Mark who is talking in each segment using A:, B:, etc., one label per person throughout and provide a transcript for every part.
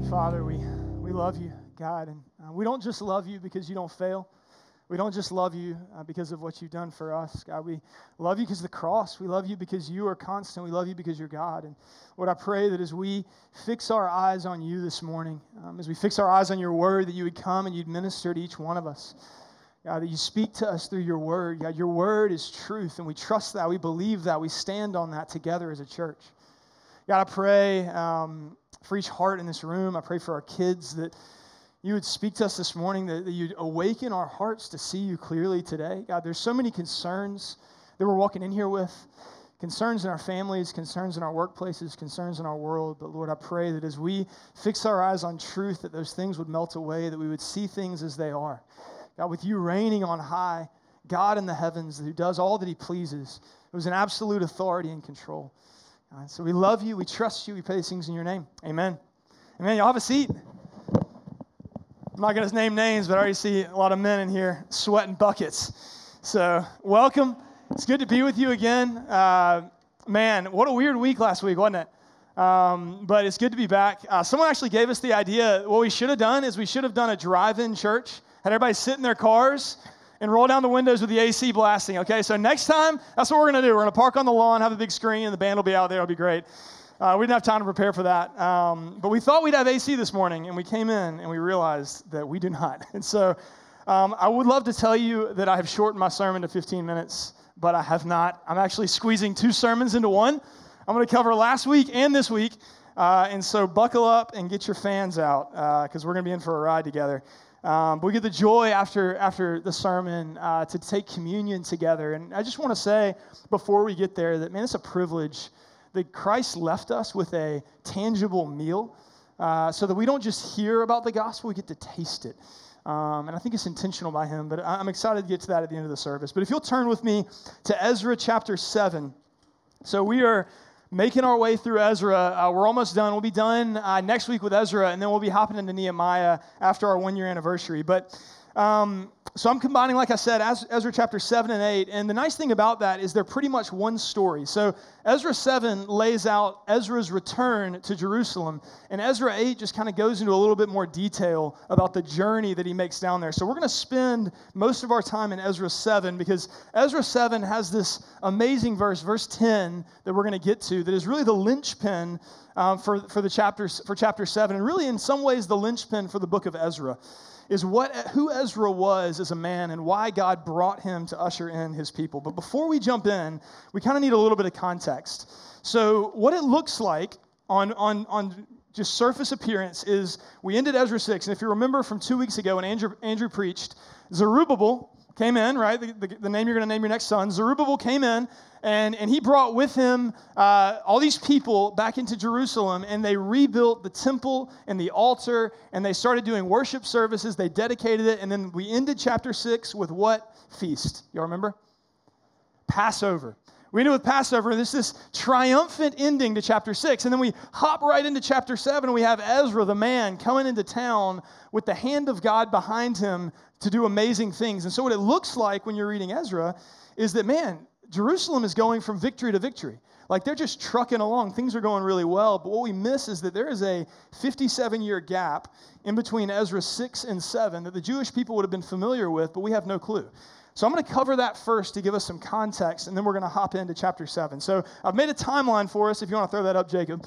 A: Father, we love you, God, and we don't just love you because you don't fail. We don't just love you because of what you've done for us, God. We love you because of the cross. We love you because you are constant. We love you because you're God. And Lord, I pray that as we fix our eyes on you this morning, as we fix our eyes on your word, that you would come and you'd minister to each one of us. God, that you speak to us through your word. God, your word is truth, and we trust that. We believe that. We stand on that together as a church. God, I pray for each heart in this room. I pray for our kids that you would speak to us this morning, that you'd awaken our hearts to see you clearly today. God, there's so many concerns that we're walking in here with, concerns in our families, concerns in our workplaces, concerns in our world. But Lord, I pray that as we fix our eyes on truth, that those things would melt away, that we would see things as they are. God, with you reigning on high, God in the heavens who does all that he pleases, who's an absolute authority and control. So we love you, we trust you, we pray these things in your name. Amen. Amen. Y'all have a seat. I'm not going to name names, but I already see a lot of men in here sweating buckets. So welcome. It's good to be with you again. Man, what a weird week last week, wasn't it? But it's good to be back. Someone actually gave us the idea. What we should have done is we should have done a drive-in church, had everybody sit in their cars and roll down the windows with the AC blasting, okay? So next time, that's what we're going to do. We're going to park on the lawn, have a big screen, and the band will be out there. It'll be great. We didn't have time to prepare for that. But we thought we'd have AC this morning, and we came in, and we realized that we do not. And so I would love to tell you that I have shortened my sermon to 15 minutes, but I have not. I'm actually squeezing 2 sermons into one. I'm going to cover last week and this week. And so buckle up and get your fans out, because we're going to be in for a ride together. But we get the joy after the sermon to take communion together. And I just want to say before we get there that, man, it's a privilege that Christ left us with a tangible meal so that we don't just hear about the gospel, we get to taste it. And I think it's intentional by him, but I'm excited to get to that at the end of the service. But if you'll turn with me to Ezra chapter 7. So we are making our way through Ezra. We're almost done. We'll be done next week with Ezra, and then we'll be hopping into Nehemiah after our 1-year anniversary. But so I'm combining, like I said, Ezra chapter 7 and 8. And the nice thing about that is they're pretty much one story. So Ezra 7 lays out Ezra's return to Jerusalem. And Ezra 8 just kind of goes into a little bit more detail about the journey that he makes down there. So we're going to spend most of our time in Ezra 7 because Ezra 7 has this amazing verse 10, that we're going to get to, that is really the linchpin for chapter 7. And really, in some ways, the linchpin for the book of Ezra is who Ezra was as a man and why God brought him to usher in his people. But before we jump in, we kind of need a little bit of context. So what it looks like on just surface appearance is we ended Ezra 6, and if you remember from 2 weeks ago when Andrew preached, Zerubbabel came in, right? The name you're going to name your next son. Zerubbabel came in, and he brought with him all these people back into Jerusalem, and they rebuilt the temple and the altar, and they started doing worship services. They dedicated it, and then we ended chapter 6 with what feast? Y'all remember? Passover. We ended with Passover, and there's this triumphant ending to chapter 6, and then we hop right into chapter 7, and we have Ezra, the man, coming into town with the hand of God behind him to do amazing things. And so what it looks like when you're reading Ezra is that, man, Jerusalem is going from victory to victory. Like, they're just trucking along. Things are going really well. But what we miss is that there is a 57-year gap in between Ezra 6 and 7 that the Jewish people would have been familiar with, but we have no clue. So I'm going to cover that first to give us some context, and then we're going to hop into chapter 7. So I've made a timeline for us, if you want to throw that up, Jacob.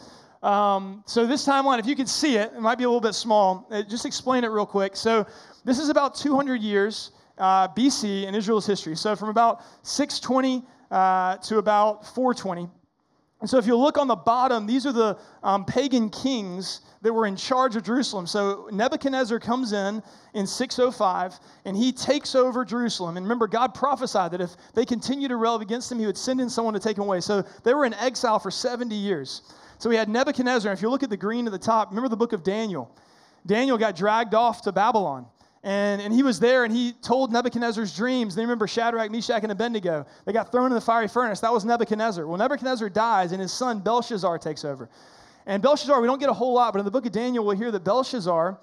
A: So this timeline, if you can see it, it might be a little bit small. Just explain it real quick. So this is about 200 years BC in Israel's history. So from about 620 to about 420. And so if you look on the bottom, these are the pagan kings that were in charge of Jerusalem. So Nebuchadnezzar comes in 605, and he takes over Jerusalem. And remember, God prophesied that if they continue to rebel against him, he would send in someone to take them away. So they were in exile for 70 years. So we had Nebuchadnezzar. If you look at the green at the top, remember the book of Daniel. Daniel got dragged off to Babylon. And he was there, and he told Nebuchadnezzar's dreams. They remember Shadrach, Meshach, and Abednego. They got thrown in the fiery furnace. That was Nebuchadnezzar. Well, Nebuchadnezzar dies, and his son Belshazzar takes over. And Belshazzar, we don't get a whole lot, but in the book of Daniel, we'll hear that Belshazzar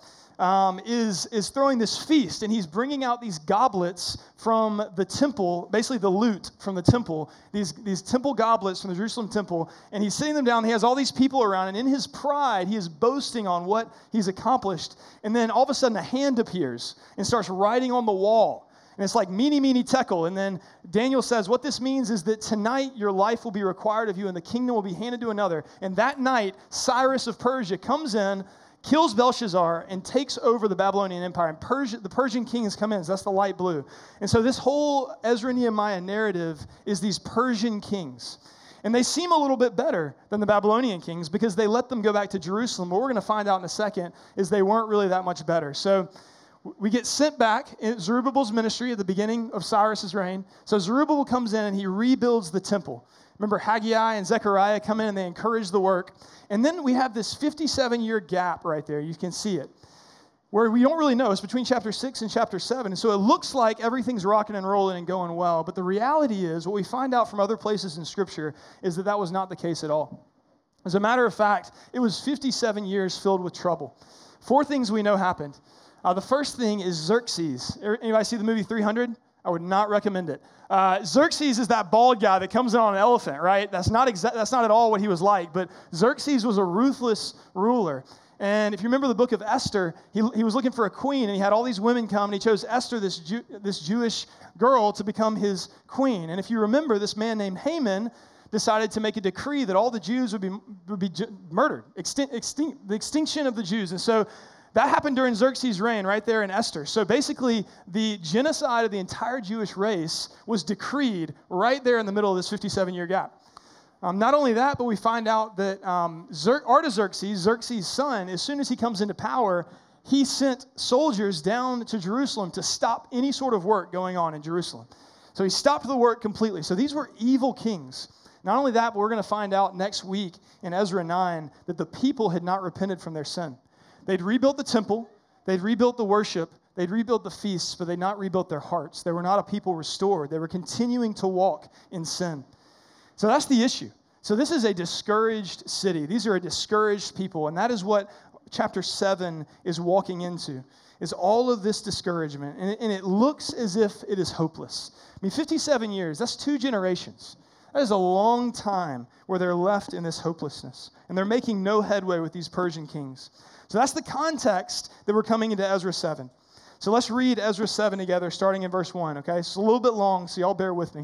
A: is throwing this feast, and he's bringing out these goblets from the temple, basically the loot from the temple, these temple goblets from the Jerusalem temple, and he's sitting them down. He has all these people around, and in his pride, he is boasting on what he's accomplished, and then all of a sudden a hand appears and starts writing on the wall, and it's like, mene, mene, tekel, and then Daniel says, what this means is that tonight your life will be required of you, and the kingdom will be handed to another, and that night, Cyrus of Persia comes in, kills Belshazzar, and takes over the Babylonian Empire. And the Persian kings come in. So that's the light blue. And so this whole Ezra Nehemiah narrative is these Persian kings. And they seem a little bit better than the Babylonian kings because they let them go back to Jerusalem. What we're going to find out in a second is they weren't really that much better. So we get sent back in Zerubbabel's ministry at the beginning of Cyrus's reign. So Zerubbabel comes in and he rebuilds the temple. Remember, Haggai and Zechariah come in and they encourage the work. And then we have this 57-year gap right there. You can see it, where we don't really know. It's between chapter 6 and chapter 7. And so it looks like everything's rocking and rolling and going well. But the reality is, what we find out from other places in Scripture is that that was not the case at all. As a matter of fact, it was 57 years filled with trouble. 4 things we know happened. The first thing is Xerxes. Anybody see the movie 300? I would not recommend it. Xerxes is that bald guy that comes in on an elephant, right? That's not at all what he was like. But Xerxes was a ruthless ruler. And if you remember the book of Esther, he was looking for a queen, and he had all these women come, and he chose Esther, this Jewish girl, to become his queen. And if you remember, this man named Haman decided to make a decree that all the Jews would be murdered, the extinction of the Jews. And so that happened during Xerxes' reign right there in Esther. So basically, the genocide of the entire Jewish race was decreed right there in the middle of this 57-year gap. Not only that, but we find out that Artaxerxes, Xerxes' son, as soon as he comes into power, he sent soldiers down to Jerusalem to stop any sort of work going on in Jerusalem. So he stopped the work completely. So these were evil kings. Not only that, but we're going to find out next week in Ezra 9 that the people had not repented from their sin. They'd rebuilt the temple, they'd rebuilt the worship, they'd rebuilt the feasts, but they'd not rebuilt their hearts. They were not a people restored. They were continuing to walk in sin. So that's the issue. So this is a discouraged city. These are a discouraged people, and that is what chapter 7 is walking into, is all of this discouragement. And it looks as if it is hopeless. I mean, 57 years, that's 2 generations. That is a long time where they're left in this hopelessness, and they're making no headway with these Persian kings. So that's the context that we're coming into Ezra 7. So let's read Ezra 7 together, starting in verse 1, okay? It's a little bit long, so y'all bear with me.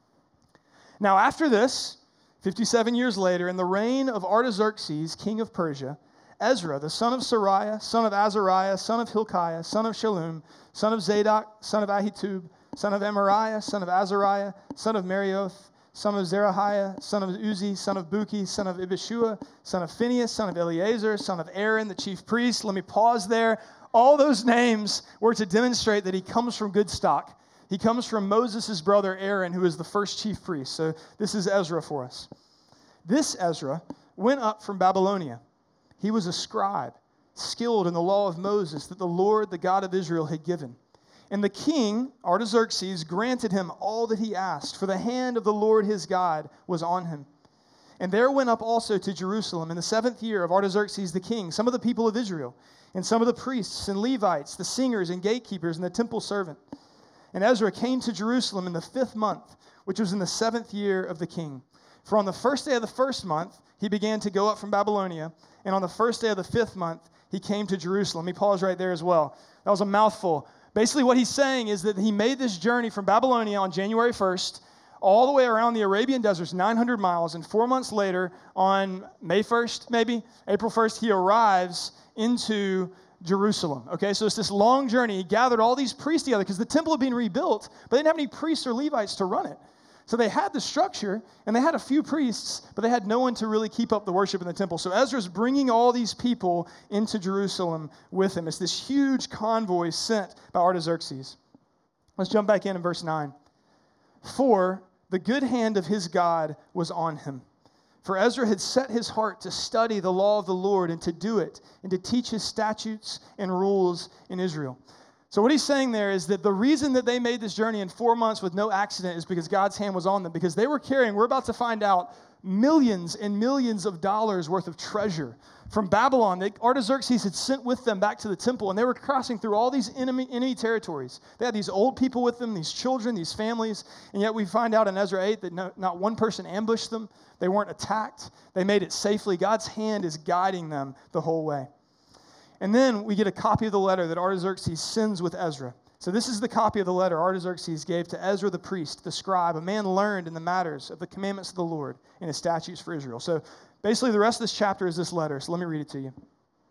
A: Now after this, 57 years later, in the reign of Artaxerxes, king of Persia, Ezra, the son of Sariah, son of Azariah, son of Hilkiah, son of Shallum, son of Zadok, son of Ahitub, son of Amariah, son of Azariah, son of Marioth, son of Zerahiah, son of Uzi, son of Buki, son of Ibishua, son of Phinehas, son of Eleazar, son of Aaron, the chief priest. Let me pause there. All those names were to demonstrate that he comes from good stock. He comes from Moses' brother Aaron, who is the first chief priest. So this is Ezra for us. This Ezra went up from Babylonia. He was a scribe, skilled in the law of Moses that the Lord, the God of Israel, had given. And the king, Artaxerxes, granted him all that he asked, for the hand of the Lord his God was on him. And there went up also to Jerusalem in the 7th year of Artaxerxes the king some of the people of Israel, and some of the priests and Levites, the singers and gatekeepers, and the temple servant. And Ezra came to Jerusalem in the 5th month, which was in the 7th year of the king. For on the first day of the 1st month, he began to go up from Babylonia, and on the first day of the 5th month, he came to Jerusalem. Let me pause right there as well. That was a mouthful. Basically, what he's saying is that he made this journey from Babylonia on January 1st all the way around the Arabian deserts, 900 miles, and 4 months later, on May 1st, maybe, April 1st, he arrives into Jerusalem. Okay, so it's this long journey. He gathered all these priests together because the temple had been rebuilt, but they didn't have any priests or Levites to run it. So they had the structure, and they had a few priests, but they had no one to really keep up the worship in the temple. So Ezra's bringing all these people into Jerusalem with him. It's this huge convoy sent by Artaxerxes. Let's jump back in verse 9. For the good hand of his God was on him. For Ezra had set his heart to study the law of the Lord and to do it, and to teach his statutes and rules in Israel. So what he's saying there is that the reason that they made this journey in 4 months with no accident is because God's hand was on them, because they were carrying, we're about to find out, millions and millions of dollars worth of treasure from Babylon that Artaxerxes had sent with them back to the temple, and they were crossing through all these enemy territories. They had these old people with them, these children, these families, and yet we find out in Ezra 8 that not one person ambushed them. They weren't attacked. They made it safely. God's hand is guiding them the whole way. And then we get a copy of the letter that Artaxerxes sends with Ezra. So this is the copy of the letter Artaxerxes gave to Ezra the priest, the scribe, a man learned in the matters of the commandments of the Lord and his statutes for Israel. So basically the rest of this chapter is this letter. So let me read it to you.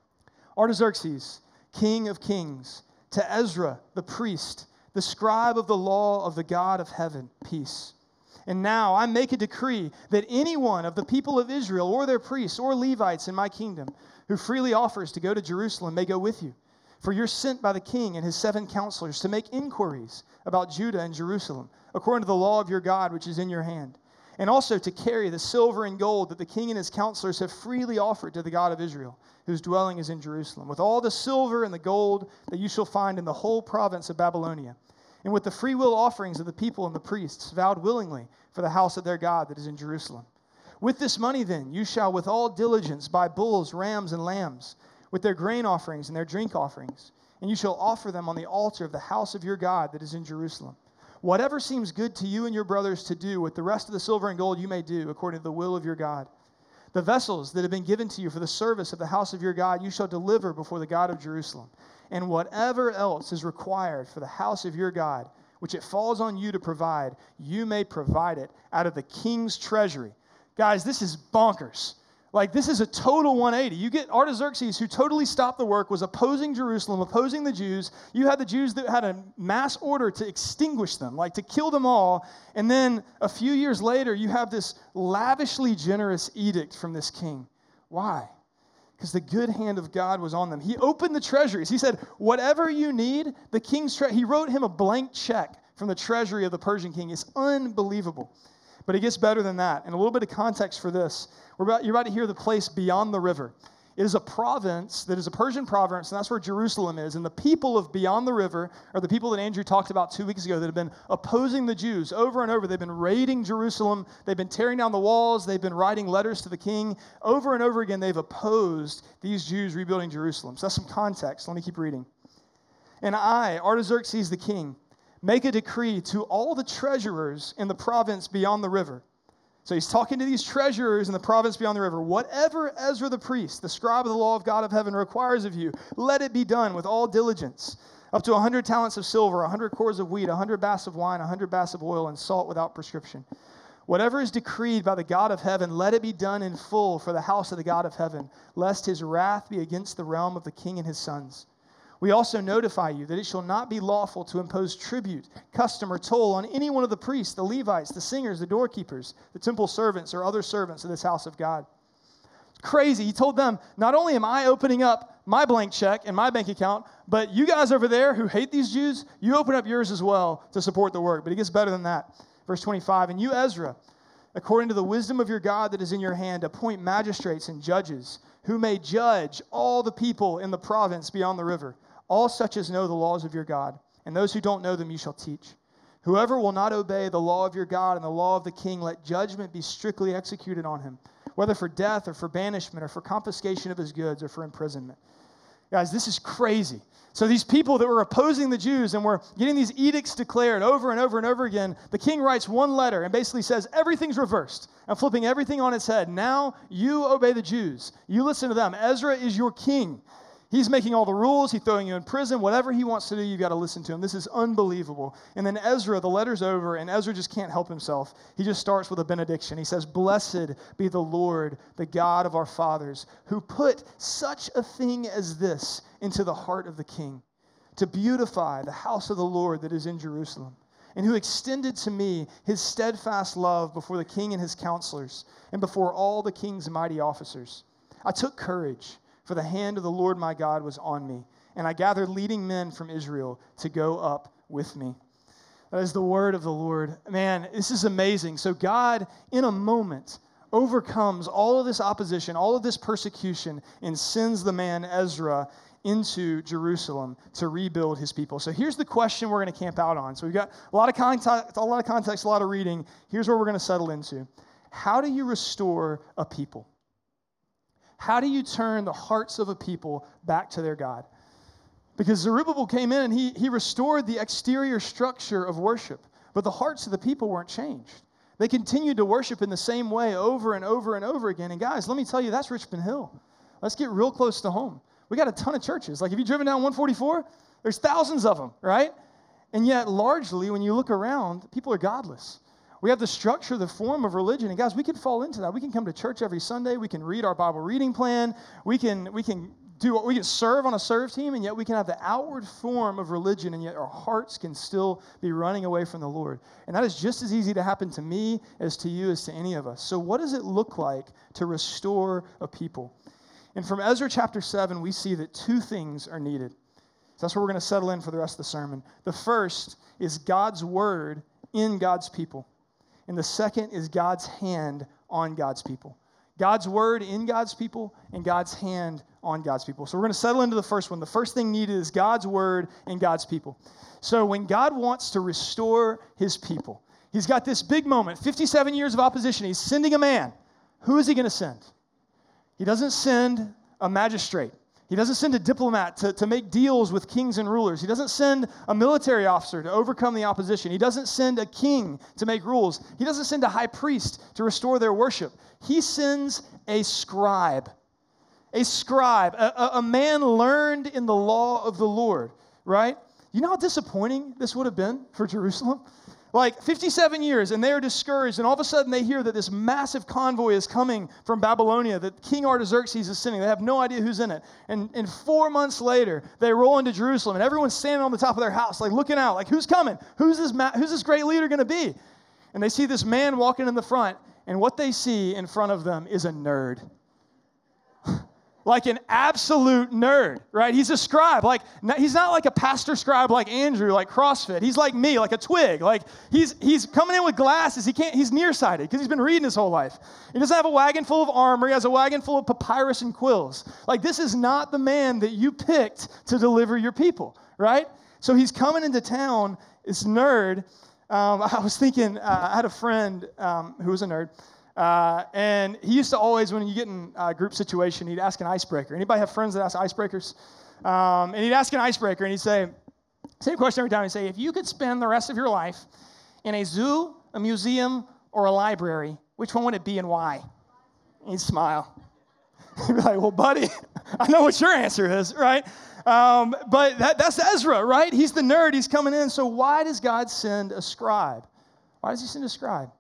A: Artaxerxes, king of kings, to Ezra the priest, the scribe of the law of the God of heaven, peace. And now I make a decree that anyone of the people of Israel or their priests or Levites in my kingdom who freely offers to go to Jerusalem may go with you. For you're sent by the king and his 7 counselors to make inquiries about Judah and Jerusalem, according to the law of your God, which is in your hand, and also to carry the silver and gold that the king and his counselors have freely offered to the God of Israel, whose dwelling is in Jerusalem, with all the silver and the gold that you shall find in the whole province of Babylonia, and with the freewill offerings of the people and the priests, vowed willingly for the house of their God that is in Jerusalem. With this money, then, you shall with all diligence buy bulls, rams, and lambs, with their grain offerings and their drink offerings, and you shall offer them on the altar of the house of your God that is in Jerusalem. Whatever seems good to you and your brothers to do with the rest of the silver and gold you may do according to the will of your God. The vessels that have been given to you for the service of the house of your God you shall deliver before the God of Jerusalem. And whatever else is required for the house of your God, which it falls on you to provide, you may provide it out of the king's treasury. Guys, this is bonkers. Like, this is a total 180. You get Artaxerxes, who totally stopped the work, was opposing Jerusalem, opposing the Jews. You had the Jews that had a mass order to extinguish them, like to kill them all. And then a few years later, you have this lavishly generous edict from this king. Why? Because the good hand of God was on them. He opened the treasuries. He said, whatever you need, the king's he wrote him a blank check from the treasury of the Persian king. It's unbelievable. But it gets better than that. And a little bit of context for this. You're about to hear the place beyond the river. It is a province that is a Persian province, and that's where Jerusalem is. And the people of beyond the river are the people that Andrew talked about 2 weeks ago that have been opposing the Jews over and over. They've been raiding Jerusalem. They've been tearing down the walls. They've been writing letters to the king. Over and over again, they've opposed these Jews rebuilding Jerusalem. So that's some context. Let me keep reading. And I, Artaxerxes the king, make a decree to all the treasurers in the province beyond the river. So he's talking to these treasurers in the province beyond the river. Whatever Ezra the priest, the scribe of the law of God of heaven, requires of you, let it be done with all diligence. Up to 100 talents of silver, 100 cores of wheat, 100 baths of wine, 100 baths of oil, and salt without prescription. Whatever is decreed by the God of heaven, let it be done in full for the house of the God of heaven, lest his wrath be against the realm of the king and his sons. We also notify you that it shall not be lawful to impose tribute, custom, or toll on any one of the priests, the Levites, the singers, the doorkeepers, the temple servants, or other servants of this house of God. It's crazy. He told them, not only am I opening up my blank check in my bank account, but you guys over there who hate these Jews, you open up yours as well to support the work. But it gets better than that. Verse 25, and you, Ezra, according to the wisdom of your God that is in your hand, appoint magistrates and judges who may judge all the people in the province beyond the river. All such as know the laws of your God, and those who don't know them you shall teach. Whoever will not obey the law of your God and the law of the king, let judgment be strictly executed on him, whether for death or for banishment or for confiscation of his goods or for imprisonment. Guys, this is crazy. So these people that were opposing the Jews and were getting these edicts declared over and over and over again, the king writes one letter and basically says everything's reversed. I'm flipping everything on its head. Now you obey the Jews. You listen to them. Ezra is your king. He's making all the rules. He's throwing you in prison. Whatever he wants to do, you've got to listen to him. This is unbelievable. And then Ezra, the letter's over, and Ezra just can't help himself. He just starts with a benediction. He says, blessed be the Lord, the God of our fathers, who put such a thing as this into the heart of the king, to beautify the house of the Lord that is in Jerusalem, and who extended to me his steadfast love before the king and his counselors, and before all the king's mighty officers. I took courage, for the hand of the Lord my God was on me, and I gathered leading men from Israel to go up with me. That is the word of the Lord. Man, this is amazing. So God, in a moment, overcomes all of this opposition, all of this persecution, and sends the man Ezra into Jerusalem to rebuild his people. So here's the question we're going to camp out on. So we've got a lot of context, a lot of reading. Here's where we're going to settle into. How do you restore a people? How do you turn the hearts of a people back to their God? Because Zerubbabel came in and he restored the exterior structure of worship, but the hearts of the people weren't changed. They continued to worship in the same way over and over and over again. And guys, let me tell you, that's Richmond Hill. Let's get real close to home. We got a ton of churches. Like, have you driven down 144? There's thousands of them, right? And yet, largely, when you look around, people are godless. We have the structure, the form of religion. And guys, we can fall into that. We can come to church every Sunday. We can read our Bible reading plan. We can serve on a serve team, and yet we can have the outward form of religion, and yet our hearts can still be running away from the Lord. And that is just as easy to happen to me as to you as to any of us. So what does it look like to restore a people? And from Ezra chapter 7, we see that two things are needed. So that's where we're going to settle in for the rest of the sermon. The first is God's word in God's people. And the second is God's hand on God's people. God's word in God's people and God's hand on God's people. So we're going to settle into the first one. The first thing needed is God's word in God's people. So when God wants to restore his people, he's got this big moment, 57 years of opposition. He's sending a man. Who is he going to send? He doesn't send a magistrate. He doesn't send a diplomat to make deals with kings and rulers. He doesn't send a military officer to overcome the opposition. He doesn't send a king to make rules. He doesn't send a high priest to restore their worship. He sends a scribe. A man learned in the law of the Lord, right? You know how disappointing this would have been for Jerusalem? Like 57 years, and they are discouraged, and all of a sudden they hear that this massive convoy is coming from Babylonia, that King Artaxerxes is sending. They have no idea who's in it. And 4 months later, they roll into Jerusalem, and everyone's standing on the top of their house, like looking out, like, who's coming? Who's this great leader going to be? And they see this man walking in the front, and what they see in front of them is a nerd. Like an absolute nerd, right? He's a scribe. Like, he's not like a pastor scribe like Andrew, like CrossFit. He's like me, like a twig. Like, he's coming in with glasses. He's nearsighted because he's been reading his whole life. He doesn't have a wagon full of armor. He has a wagon full of papyrus and quills. Like, this is not the man that you picked to deliver your people, right? So he's coming into town, this nerd. I was thinking, I had a friend who was a nerd. And he used to always, when you get in a group situation, he'd ask an icebreaker. Anybody have friends that ask icebreakers? And he'd ask an icebreaker, and he'd say, same question every time. He'd say, if you could spend the rest of your life in a zoo, a museum, or a library, which one would it be and why? And he'd smile. He'd be like, well, buddy, I know what your answer is, right? But that's Ezra, right? He's the nerd. He's coming in. So why does God send a scribe? Why does he send a scribe?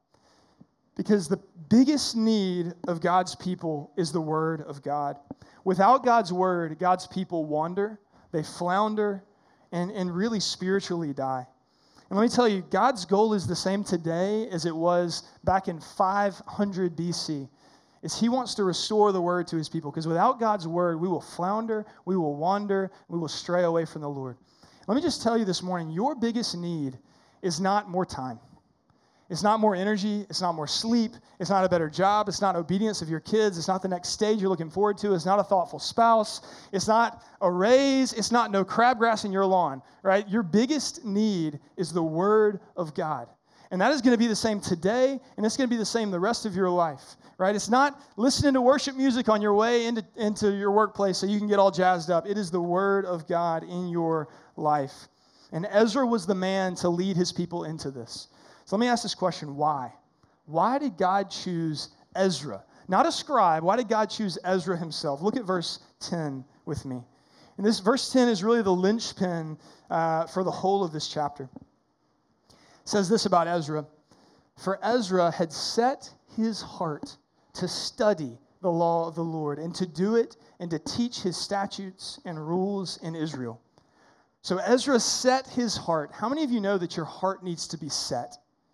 A: Because the biggest need of God's people is the word of God. Without God's word, God's people wander, they flounder, and really spiritually die. And let me tell you, God's goal is the same today as it was back in 500 BC. Is he wants to restore the word to his people. Because without God's word, we will flounder, we will wander, we will stray away from the Lord. Let me just tell you this morning, your biggest need is not more time. It's not more energy. It's not more sleep. It's not a better job. It's not obedience of your kids. It's not the next stage you're looking forward to. It's not a thoughtful spouse. It's not a raise. It's not no crabgrass in your lawn, right? Your biggest need is the word of God. And that is going to be the same today, and it's going to be the same the rest of your life, right? It's not listening to worship music on your way into your workplace so you can get all jazzed up. It is the word of God in your life. And Ezra was the man to lead his people into this. So let me ask this question, why? Why did God choose Ezra? Not a scribe. Why did God choose Ezra himself? Look at verse 10 with me. And this verse 10 is really the linchpin for the whole of this chapter. It says this about Ezra. For Ezra had set his heart to study the law of the Lord and to do it and to teach his statutes and rules in Israel. So Ezra set his heart. How many of you know that your heart needs to be set?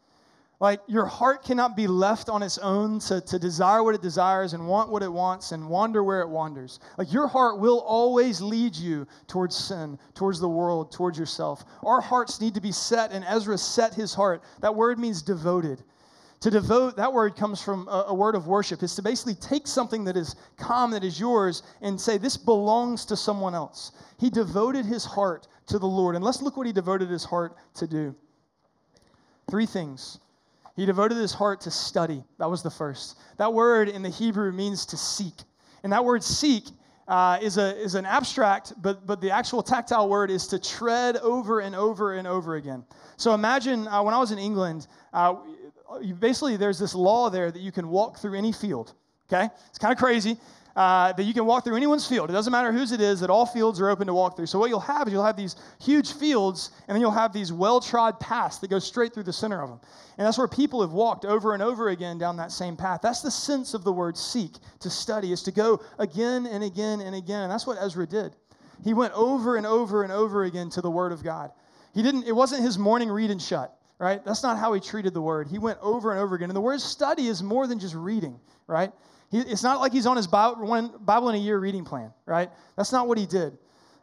A: Like, your heart cannot be left on its own to desire what it desires and want what it wants and wander where it wanders. Like, your heart will always lead you towards sin, towards the world, towards yourself. Our hearts need to be set, and Ezra set his heart. That word means devoted. To devote, that word comes from a word of worship. It's to basically take something that is calm, that is yours, and say, this belongs to someone else. He devoted his heart to the Lord. And let's look what he devoted his heart to do. 3 things. He devoted his heart to study. That was the first. That word in the Hebrew means to seek. And that word seek is an abstract, but the actual tactile word is to tread over and over and over again. So imagine when I was in England, basically there's this law there that you can walk through any field, okay? It's kind of crazy that you can walk through anyone's field. It doesn't matter whose it is, that all fields are open to walk through. So what you'll have is you'll have these huge fields, and then you'll have these well-trod paths that go straight through the center of them. And that's where people have walked over and over again down that same path. That's the sense of the word seek, to study, is to go again and again and again. And that's what Ezra did. He went over and over and over again to the Word of God. It wasn't his morning read and shut, right? That's not how he treated the Word. He went over and over again. And the word study is more than just reading, right? It's not like he's on his Bible in a year reading plan, right? That's not what he did.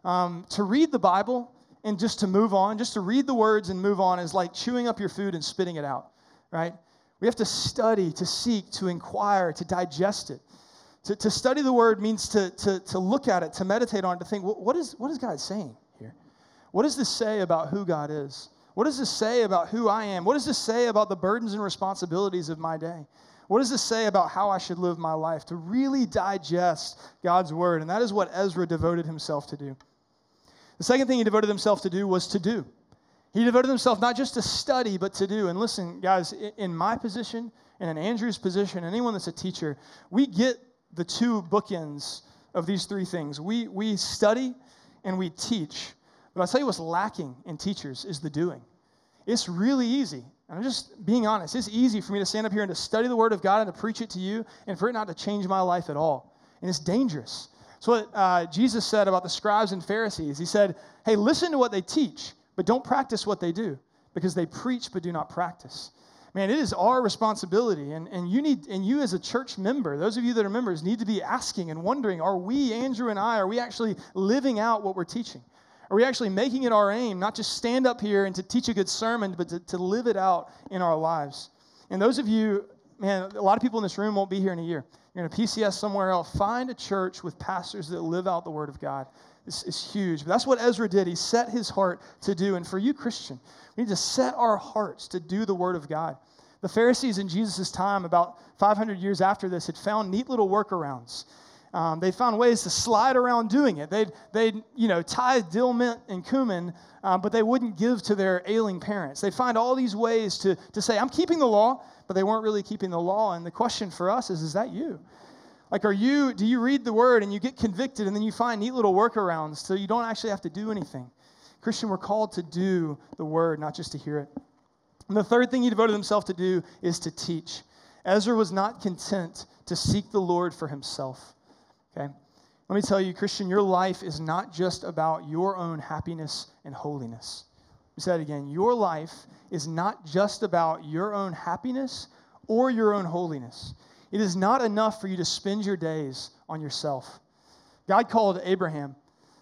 A: To read the Bible and just to move on, just to read the words and move on is like chewing up your food and spitting it out, right? We have to study, to seek, to inquire, to digest it. To study the Word means to look at it, to meditate on it, to think, what is God saying here? What does this say about who God is? What does this say about who I am? What does this say about the burdens and responsibilities of my day? What does this say about how I should live my life? To really digest God's Word. And that is what Ezra devoted himself to do. The second thing he devoted himself to do was to do. He devoted himself not just to study, but to do. And listen, guys, in my position and in Andrew's position, anyone that's a teacher, we get the two bookends of these three things. We study and we teach. But I'll tell you what's lacking in teachers is the doing. It's really easy. I'm just being honest. It's easy for me to stand up here and to study the Word of God and to preach it to you and for it not to change my life at all. And it's dangerous. So what Jesus said about the scribes and Pharisees. He said, hey, listen to what they teach, but don't practice what they do, because they preach but do not practice. Man, it is our responsibility, and you as a church member, those of you that are members, need to be asking and wondering, are we, Andrew and I, are we actually living out what we're teaching? Are we actually making it our aim, not just stand up here and to teach a good sermon, but to live it out in our lives? And those of you, man, a lot of people in this room won't be here in a year. You're in a PCS somewhere else. Find a church with pastors that live out the Word of God. It's huge. But that's what Ezra did. He set his heart to do. And for you, Christian, we need to set our hearts to do the Word of God. The Pharisees in Jesus' time, about 500 years after this, had found neat little workarounds. They found ways to slide around doing it. They'd tithe dill, mint, and cumin, but they wouldn't give to their ailing parents. They'd find all these ways to say, I'm keeping the law, but they weren't really keeping the law. And the question for us is that you? Like, do you read the Word and you get convicted and then you find neat little workarounds so you don't actually have to do anything? Christian, we're called to do the Word, not just to hear it. And the third thing he devoted himself to do is to teach. Ezra was not content to seek the Lord for himself. Okay? Let me tell you, Christian, your life is not just about your own happiness and holiness. Let me say that again. Your life is not just about your own happiness or your own holiness. It is not enough for you to spend your days on yourself. God called Abraham,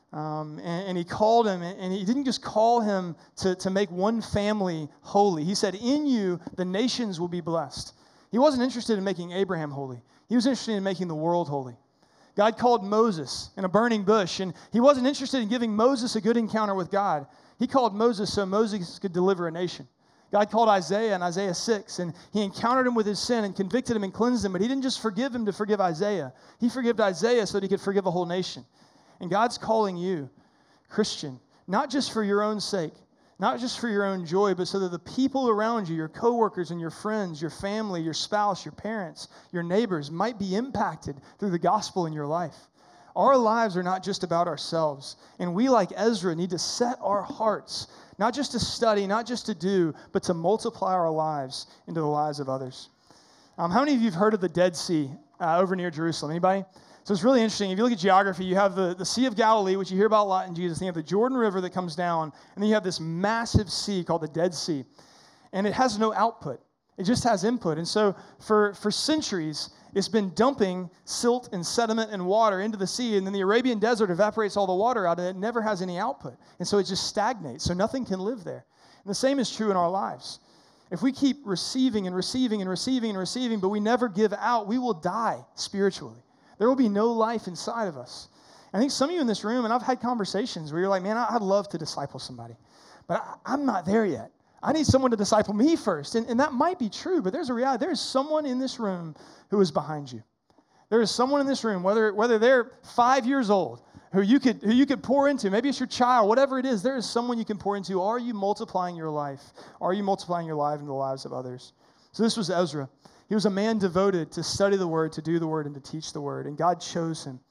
A: and he called him, and he didn't just call him to make one family holy. He said, in you, the nations will be blessed. He wasn't interested in making Abraham holy. He was interested in making the world holy. God called Moses in a burning bush, and he wasn't interested in giving Moses a good encounter with God. He called Moses so Moses could deliver a nation. God called Isaiah in Isaiah 6, and he encountered him with his sin and convicted him and cleansed him, but he didn't just forgive him to forgive Isaiah. He forgave Isaiah so that he could forgive a whole nation. And God's calling you, Christian, not just for your own sake, not just for your own joy, but so that the people around you, your coworkers and your friends, your family, your spouse, your parents, your neighbors might be impacted through the gospel in your life. Our lives are not just about ourselves. And we, like Ezra, need to set our hearts, not just to study, not just to do, but to multiply our lives into the lives of others. How many of you have heard of the Dead Sea over near Jerusalem? Anybody? So it's really interesting. If you look at geography, you have the Sea of Galilee, which you hear about a lot in Jesus. And you have the Jordan River that comes down. And then you have this massive sea called the Dead Sea. And it has no output. It just has input. And so for centuries, it's been dumping silt and sediment and water into the sea. And then the Arabian desert evaporates all the water out, and it never has any output. And so it just stagnates. So nothing can live there. And the same is true in our lives. If we keep receiving and receiving and receiving and receiving, but we never give out, we will die spiritually. There will be no life inside of us. I think some of you in this room, and I've had conversations where you're like, man, I'd love to disciple somebody, but I'm not there yet. I need someone to disciple me first. And that might be true, but there's a reality. There is someone in this room who is behind you. There is someone in this room, whether they're 5 years old, who you could pour into. Maybe it's your child, whatever it is, there is someone you can pour into. Are you multiplying your life? Are you multiplying your life into the lives of others? So this was Ezra. He was a man devoted to study the word, to do the word, and to teach the word. And God chose him.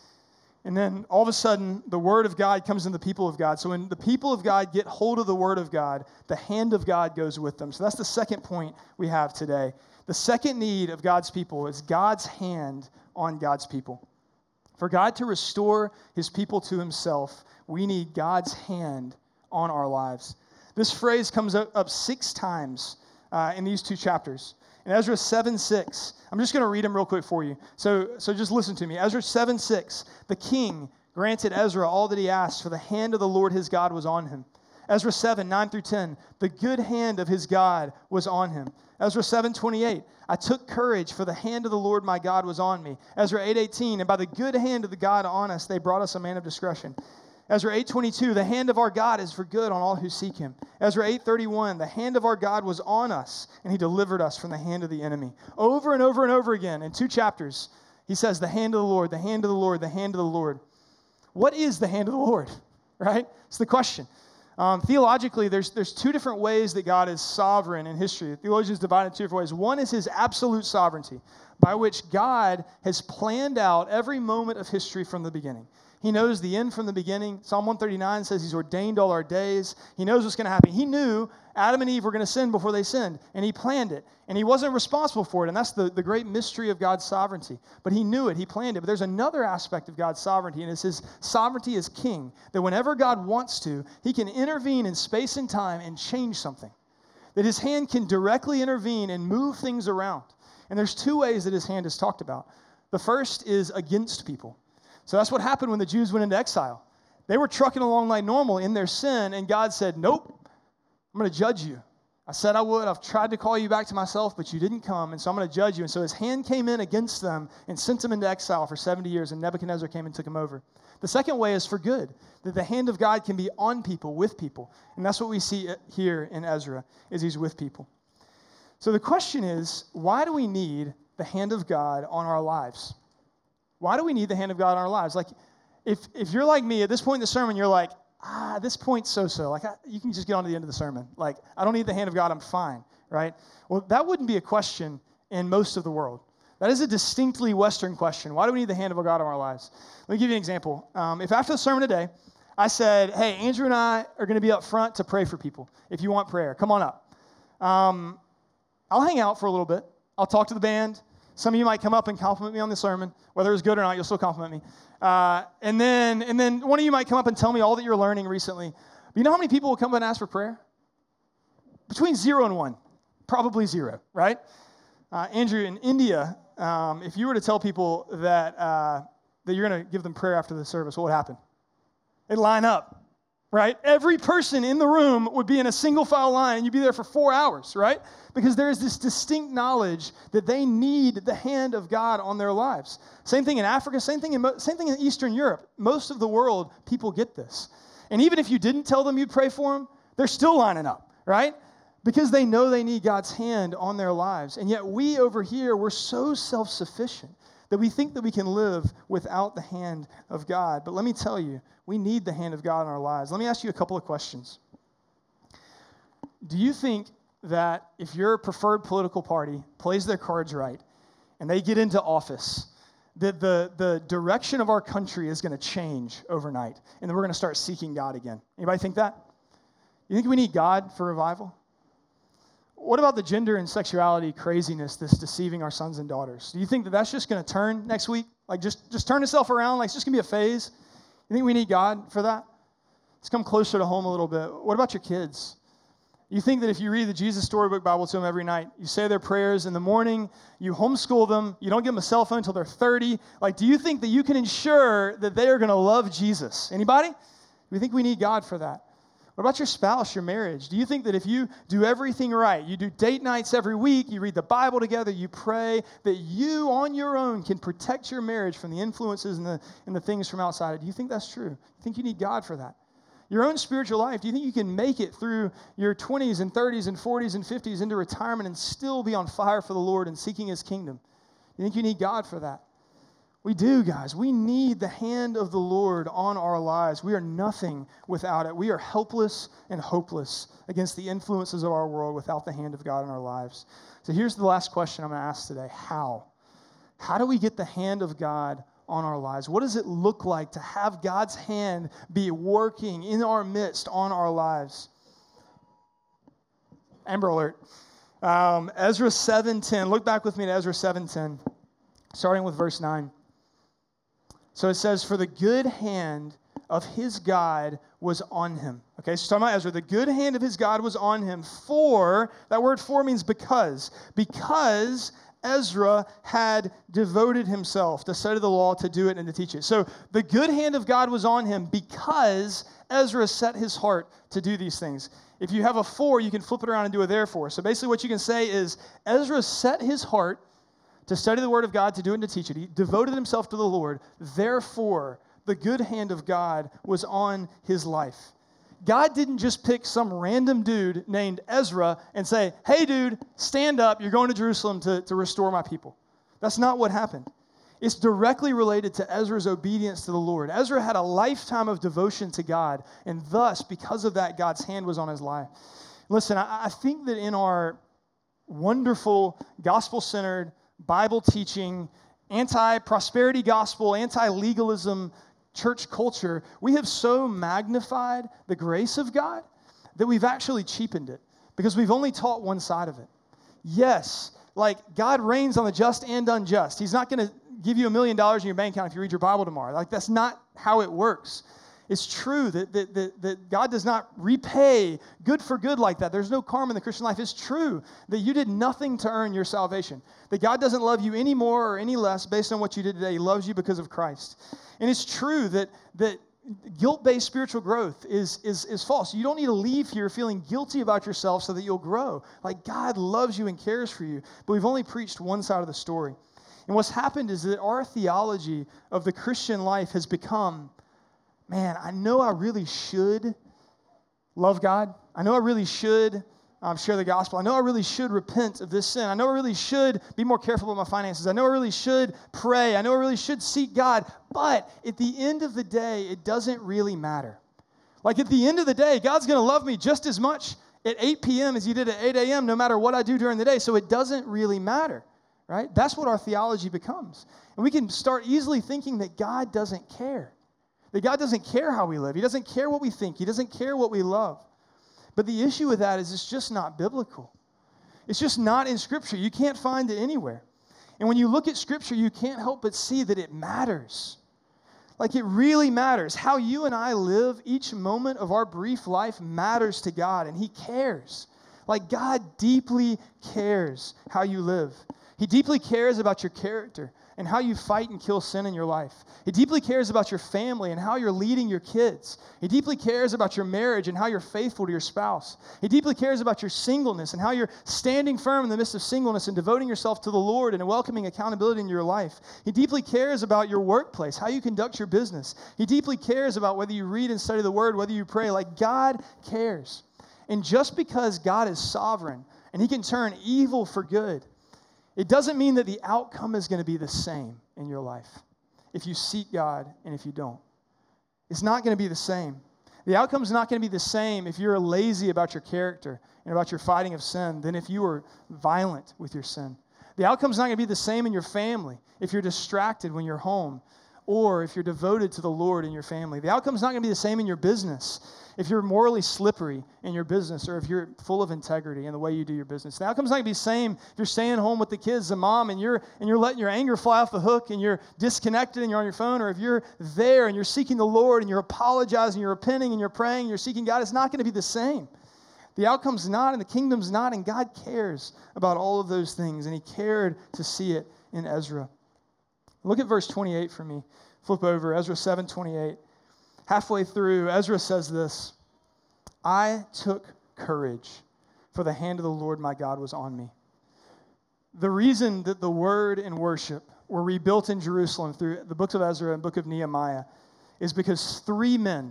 A: And then all of a sudden, the word of God comes in the people of God. So when the people of God get hold of the word of God, the hand of God goes with them. So that's the second point we have today. The second need of God's people is God's hand on God's people. For God to restore his people to himself, we need God's hand on our lives. This phrase comes up 6 times in these 2 chapters. In Ezra 7:6, I'm just going to read them real quick for you. So just listen to me. Ezra 7:6, the king granted Ezra all that he asked, for the hand of the Lord his God was on him. Ezra 7:9-10, the good hand of his God was on him. Ezra 7:28, I took courage, for the hand of the Lord my God was on me. Ezra 8:18, and by the good hand of the God on us, they brought us a man of discretion. Ezra 8:22, the hand of our God is for good on all who seek him. Ezra 8:31, the hand of our God was on us, and he delivered us from the hand of the enemy. Over and over and over again, in 2 chapters, he says, the hand of the Lord, the hand of the Lord, the hand of the Lord. What is the hand of the Lord, right? It's the question. Theologically, there's 2 different ways that God is sovereign in history. Theologians divide it 2 different ways. One is his absolute sovereignty, by which God has planned out every moment of history from the beginning. He knows the end from the beginning. Psalm 139 says he's ordained all our days. He knows what's going to happen. He knew Adam and Eve were going to sin before they sinned, and he planned it. And he wasn't responsible for it, and that's the great mystery of God's sovereignty. But he knew it. He planned it. But there's another aspect of God's sovereignty, and it's his sovereignty as king, that whenever God wants to, he can intervene in space and time and change something. That his hand can directly intervene and move things around. And there's 2 ways that his hand is talked about. The first is against people. So that's what happened when the Jews went into exile. They were trucking along like normal in their sin, and God said, nope, I'm going to judge you. I said I would. I've tried to call you back to myself, but you didn't come, and so I'm going to judge you. And so his hand came in against them and sent them into exile for 70 years, and Nebuchadnezzar came and took them over. The second way is for good, that the hand of God can be on people, with people. And that's what we see here in Ezra, is he's with people. So the question is, why do we need the hand of God on our lives? Why do we need the hand of God in our lives? Like, if you're like me, at this point in the sermon, you're like, this point's so-so. Like, you can just get on to the end of the sermon. Like, I don't need the hand of God, I'm fine, right? Well, that wouldn't be a question in most of the world. That is a distinctly Western question. Why do we need the hand of God in our lives? Let me give you an example. If after the sermon today, I said, hey, Andrew and I are going to be up front to pray for people. If you want prayer, come on up. I'll hang out for a little bit. I'll talk to the band. Some of you might come up and compliment me on the sermon. Whether it's good or not, you'll still compliment me. And then one of you might come up and tell me all that you're learning recently. But you know how many people will come up and ask for prayer? Between 0 and 1. Probably 0, right? Andrew, in India, if you were to tell people that you're going to give them prayer after the service, what would happen? They'd line up, right? Every person in the room would be in a single file line, and you'd be there for 4 hours, right? Because there is this distinct knowledge that they need the hand of God on their lives. Same thing in Africa, same thing in Eastern Europe. Most of the world, people get this. And even if you didn't tell them you'd pray for them, they're still lining up, right? Because they know they need God's hand on their lives. And yet we over here, we're so self-sufficient that we think that we can live without the hand of God. But let me tell you, we need the hand of God in our lives. Let me ask you a couple of questions. Do you think that if your preferred political party plays their cards right and they get into office, that the direction of our country is going to change overnight and then we're going to start seeking God again? Anybody think that? You think we need God for revival? What about the gender and sexuality craziness that's deceiving our sons and daughters? Do you think that that's just going to turn next week? Like just turn itself around? Like it's just going to be a phase? You think we need God for that? Let's come closer to home a little bit. What about your kids? You think that if you read the Jesus Storybook Bible to them every night, you say their prayers in the morning, you homeschool them, you don't give them a cell phone until they're 30, like do you think that you can ensure that they are going to love Jesus? Anybody? We think we need God for that. What about your spouse, your marriage? Do you think that if you do everything right, you do date nights every week, you read the Bible together, you pray, that you on your own can protect your marriage from the influences and the things from outside? Do you think that's true? You think you need God for that? Your own spiritual life. Do you think you can make it through your 20s and 30s and 40s and 50s into retirement and still be on fire for the Lord and seeking His kingdom? You think you need God for that? We do, guys. We need the hand of the Lord on our lives. We are nothing without it. We are helpless and hopeless against the influences of our world without the hand of God in our lives. So here's the last question I'm going to ask today. How? How do we get the hand of God on our lives? What does it look like to have God's hand be working in our midst on our lives? Amber alert. Ezra 7:10. Look back with me to Ezra 7:10, starting with verse 9. So it says, "For the good hand of his God was on him." Okay, so talking about Ezra. The good hand of his God was on him for, that word for means because Ezra had devoted himself to study the law, to do it, and to teach it. So the good hand of God was on him because Ezra set his heart to do these things. If you have a for, you can flip it around and do a therefore. So basically what you can say is Ezra set his heart to study the word of God, to do it, and to teach it. He devoted himself to the Lord. Therefore, the good hand of God was on his life. God didn't just pick some random dude named Ezra and say, "Hey, dude, stand up. You're going to Jerusalem to restore my people." That's not what happened. It's directly related to Ezra's obedience to the Lord. Ezra had a lifetime of devotion to God, and thus, because of that, God's hand was on his life. Listen, I think that in our wonderful, gospel-centered, Bible-teaching, anti-prosperity gospel, anti-legalism church culture, we have so magnified the grace of God that we've actually cheapened it because we've only taught one side of it. Yes, like God reigns on the just and unjust. He's not going to give you $1 million in your bank account if you read your Bible tomorrow. Like that's not how it works. It's true that God does not repay good for good like that. There's no karma in the Christian life. It's true that you did nothing to earn your salvation. That God doesn't love you any more or any less based on what you did today. He loves you because of Christ. And it's true that guilt-based spiritual growth is false. You don't need to leave here feeling guilty about yourself so that you'll grow. Like God loves you and cares for you. But we've only preached one side of the story. And what's happened is that our theology of the Christian life has become, man, I know I really should love God. I know I really should share the gospel. I know I really should repent of this sin. I know I really should be more careful with my finances. I know I really should pray. I know I really should seek God. But at the end of the day, it doesn't really matter. Like at the end of the day, God's going to love me just as much at 8 p.m. as He did at 8 a.m. no matter what I do during the day. So it doesn't really matter, right? That's what our theology becomes. And we can start easily thinking that God doesn't care. That God doesn't care how we live. He doesn't care what we think. He doesn't care what we love. But the issue with that is it's just not biblical. It's just not in Scripture. You can't find it anywhere. And when you look at Scripture, you can't help but see that it matters. Like it really matters. How you and I live each moment of our brief life matters to God, and He cares. Like God deeply cares how you live. He deeply cares about your character and how you fight and kill sin in your life. He deeply cares about your family and how you're leading your kids. He deeply cares about your marriage and how you're faithful to your spouse. He deeply cares about your singleness and how you're standing firm in the midst of singleness and devoting yourself to the Lord and welcoming accountability in your life. He deeply cares about your workplace, how you conduct your business. He deeply cares about whether you read and study the Word, whether you pray. Like God cares. And just because God is sovereign and He can turn evil for good, it doesn't mean that the outcome is going to be the same in your life if you seek God and if you don't. It's not going to be the same. The outcome is not going to be the same if you're lazy about your character and about your fighting of sin than if you are violent with your sin. The outcome is not going to be the same in your family if you're distracted when you're home or if you're devoted to the Lord in your family. The outcome is not going to be the same in your business if you're morally slippery in your business or if you're full of integrity in the way you do your business. The outcome's not going to be the same if you're staying home with the kids and mom and you're letting your anger fly off the hook and you're disconnected and you're on your phone, or if you're there and you're seeking the Lord and you're apologizing, you're repenting and you're praying and you're seeking God. It's not going to be the same. The outcome's not, and the kingdom's not, and God cares about all of those things, and He cared to see it in Ezra. Look at verse 28 for me. Flip over, Ezra 7:28. Halfway through, Ezra says this: I took courage, for the hand of the Lord my God was on me. The reason that the word and worship were rebuilt in Jerusalem through the books of Ezra and book of Nehemiah is because 3 men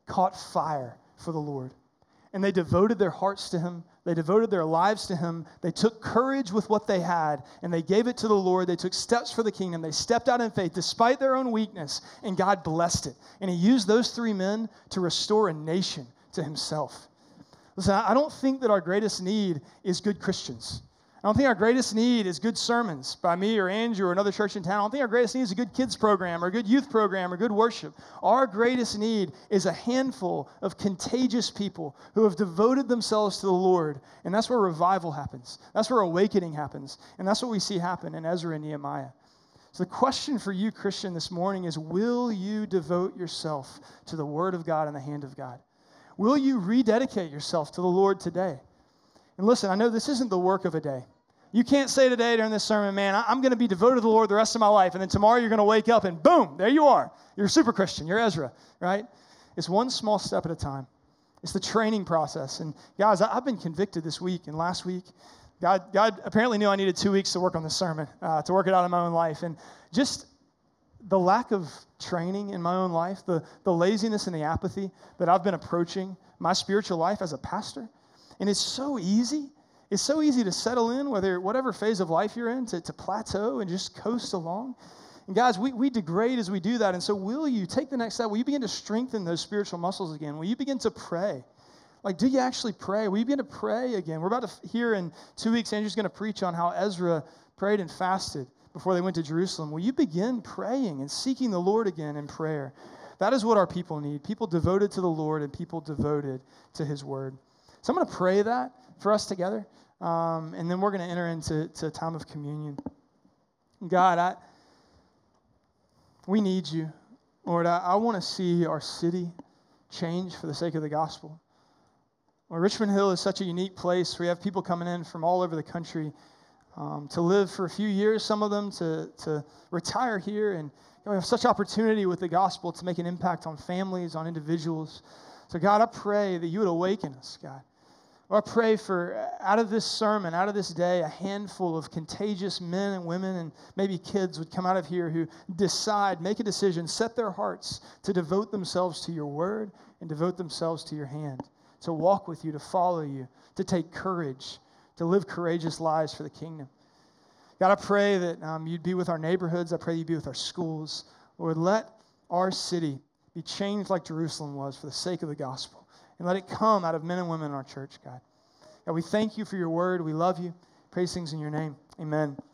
A: caught fire for the Lord. And they devoted their hearts to him. They devoted their lives to him. They took courage with what they had, and they gave it to the Lord. They took steps for the kingdom. They stepped out in faith despite their own weakness, and God blessed it. And he used those 3 men to restore a nation to himself. Listen, I don't think that our greatest need is good Christians. I don't think our greatest need is good sermons by me or Andrew or another church in town. I don't think our greatest need is a good kids program or a good youth program or good worship. Our greatest need is a handful of contagious people who have devoted themselves to the Lord. And that's where revival happens. That's where awakening happens. And that's what we see happen in Ezra and Nehemiah. So the question for you, Christian, this morning is, will you devote yourself to the Word of God and the hand of God? Will you rededicate yourself to the Lord today? And listen, I know this isn't the work of a day. You can't say today during this sermon, man, I'm going to be devoted to the Lord the rest of my life, and then tomorrow you're going to wake up and boom, there you are. You're a super Christian. You're Ezra, right? It's one small step at a time. It's the training process. And guys, I've been convicted this week and last week. God apparently knew I needed 2 weeks to work on this sermon, to work it out in my own life. And just the lack of training in my own life, the laziness and the apathy that I've been approaching my spiritual life as a pastor. And it's so easy. It's so easy to settle in, whatever phase of life you're in, to plateau and just coast along. And guys, we degrade as we do that. And so will you take the next step? Will you begin to strengthen those spiritual muscles again? Will you begin to pray? Like, do you actually pray? Will you begin to pray again? We're about to hear in 2 weeks, Andrew's going to preach on how Ezra prayed and fasted before they went to Jerusalem. Will you begin praying and seeking the Lord again in prayer? That is what our people need. People devoted to the Lord and people devoted to his word. So I'm going to pray that for us together, and then we're going to enter into a time of communion. God, we need you. Lord, I want to see our city change for the sake of the gospel. Well, Richmond Hill is such a unique place. We have people coming in from all over the country to live for a few years, some of them to retire here, and we have such opportunity with the gospel to make an impact on families, on individuals. So God, I pray that you would awaken us, God. Lord, I pray for, out of this sermon, out of this day, a handful of contagious men and women and maybe kids would come out of here who make a decision, set their hearts to devote themselves to your word and devote themselves to your hand, to walk with you, to follow you, to take courage, to live courageous lives for the kingdom. God, I pray that you'd be with our neighborhoods. I pray you'd be with our schools. Lord, let our city be changed like Jerusalem was for the sake of the gospel. And let it come out of men and women in our church, God. God, we thank you for your word. We love you. Praise things in your name. Amen.